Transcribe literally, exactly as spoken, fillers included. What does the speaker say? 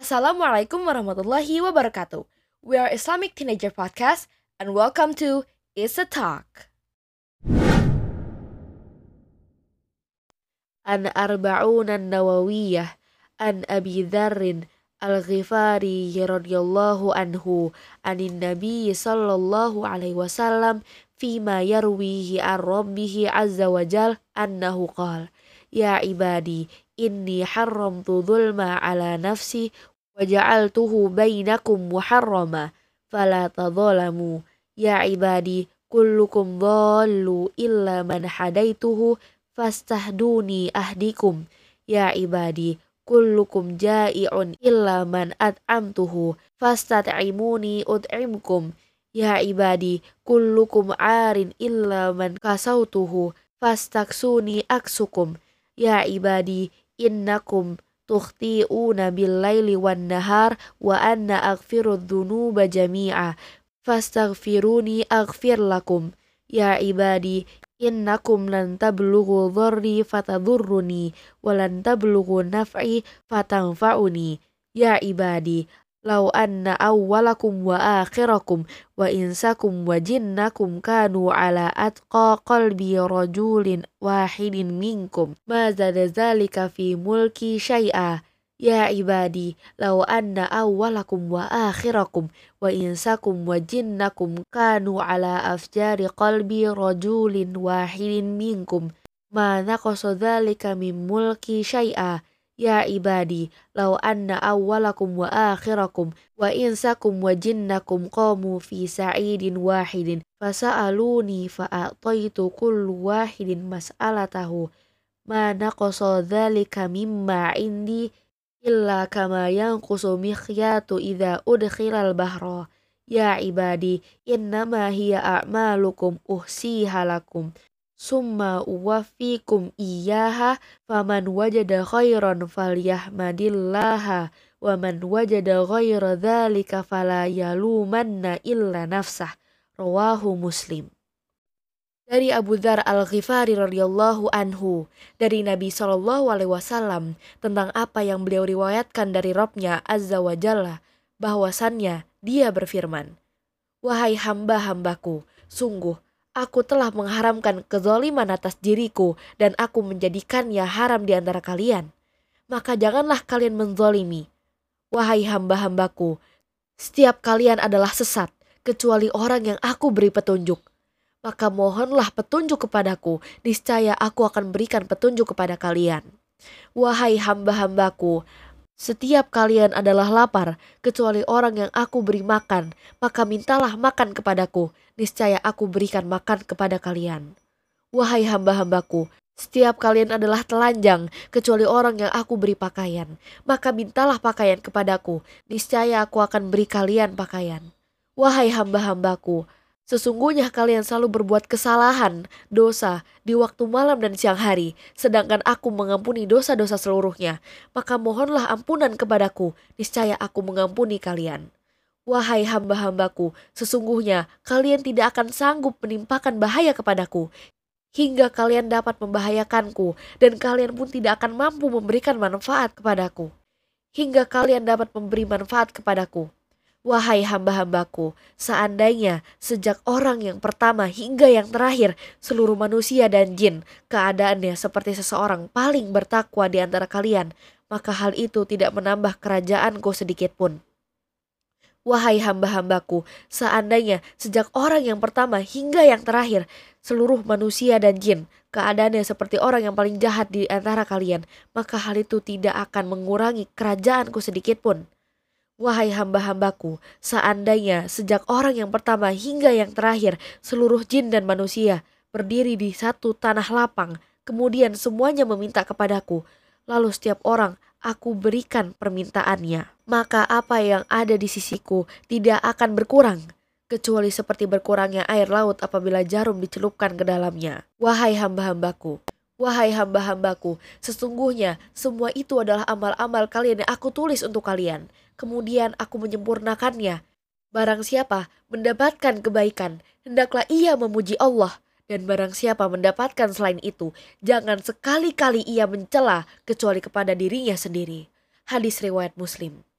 Assalamualaikum warahmatullahi wabarakatuh. We are Islamic Teenager Podcast and welcome to It's a Talk. An Arba'una Nawawiyah An Abi Dharrin Al-Ghifari radhiyallahu anhu anin Nabi sallallahu alaihi wasallam fima yarwihi an Rabbihi azza wa jal annahu qala ya ibadi inni haramtu dhulma ala nafsi wa ja'altuhu bainakum muharrama fala tadhalamu ya ibadi kullukum dhallu illa man hadaituhu fastahduni ahdikum ya ibadi kullukum ja'i'un illa man at'amtuhu fastat'imuni ut'imkum ya ibadi kullukum 'arin illa man kasautuhu fastaksuni aksukum ya ibadi innakum tukhti'una bil-laili wan-nahar wa anna aghfirudz dzunuba jami'a fastaghfiruni aghfir lakum ya ibadi innakum lan tablughu dharri fatadurruni wa lan tablughu naf'i fatanfa'uni ya ibadi law anna awwalakum wa akhirakum wa insakum wa jinnakum kanu ala atqa qalbi rajulin wahidin minkum ma zada zalika fi mulki syai'a ya ibadi law anna awwalakum wa akhirakum wa insakum wa jinnakum kanu ala afjari qalbi rajulin wahidin minkum ma naqasa dzalika min mulki syai'a ya ibadi law anna awwalakum wa akhirakum wa insakum wa jinnakum qamu fi sa'idin wahidin fasa'aluni fa'ataitu kullu wahidin mas'alatahu ma naqasa dzalika mimma indi illa kama yanqusu mikhyatu idza udkhilal bahra ya ibadi innama hiya a'malukum uhsiha lakum summa uwaffikum iyyaha faman wajada khairan falyahmadillaha wa man wajada ghaira dzalika fala yalumanna illa nafsah rawahu Muslim. Dari Abu Dzar Al-Ghifari radhiyallahu anhu, dari Nabi shallallahu alaihi wasallam tentang apa yang beliau riwayatkan dari Rabb-Nya Azza wa Jalla, bahwasannya dia berfirman, wahai hamba-hambaku, sungguh aku telah mengharamkan kezaliman atas diriku dan aku menjadikannya haram di antara kalian. Maka janganlah kalian menzalimi. Wahai hamba-hambaku, setiap kalian adalah sesat, kecuali orang yang aku beri petunjuk. Maka mohonlah petunjuk kepadaku, niscaya aku akan berikan petunjuk kepada kalian. Wahai hamba-hambaku, setiap kalian adalah lapar, kecuali orang yang aku beri makan, maka mintalah makan kepadaku, niscaya aku berikan makan kepada kalian. Wahai hamba-hambaku, setiap kalian adalah telanjang, kecuali orang yang aku beri pakaian, maka mintalah pakaian kepadaku, niscaya aku akan beri kalian pakaian. Wahai hamba-hambaku, sesungguhnya kalian selalu berbuat kesalahan, dosa, di waktu malam dan siang hari, sedangkan aku mengampuni dosa-dosa seluruhnya. Maka mohonlah ampunan kepadaku, niscaya aku mengampuni kalian. Wahai hamba-hambaku, sesungguhnya kalian tidak akan sanggup menimpakan bahaya kepadaku, hingga kalian dapat membahayakanku, dan kalian pun tidak akan mampu memberikan manfaat kepadaku, hingga kalian dapat memberi manfaat kepadaku. Wahai hamba-hambaku, seandainya sejak orang yang pertama hingga yang terakhir seluruh manusia dan jin keadaannya seperti seseorang paling bertakwa di antara kalian, maka hal itu tidak menambah kerajaanku sedikit pun. Wahai hamba-hambaku, seandainya sejak orang yang pertama hingga yang terakhir seluruh manusia dan jin keadaannya seperti orang yang paling jahat di antara kalian, maka hal itu tidak akan mengurangi kerajaanku sedikit pun. Wahai hamba-hambaku, seandainya sejak orang yang pertama hingga yang terakhir seluruh jin dan manusia berdiri di satu tanah lapang, kemudian semuanya meminta kepadaku, lalu setiap orang aku berikan permintaannya, maka apa yang ada di sisiku tidak akan berkurang, kecuali seperti berkurangnya air laut apabila jarum dicelupkan ke dalamnya. Wahai hamba-hambaku, wahai hamba-hambaku, sesungguhnya semua itu adalah amal-amal kalian yang aku tulis untuk kalian. Kemudian aku menyempurnakannya. Barang siapa mendapatkan kebaikan, hendaklah ia memuji Allah. Dan barang siapa mendapatkan selain itu, jangan sekali-kali ia mencela kecuali kepada dirinya sendiri. Hadis riwayat Muslim.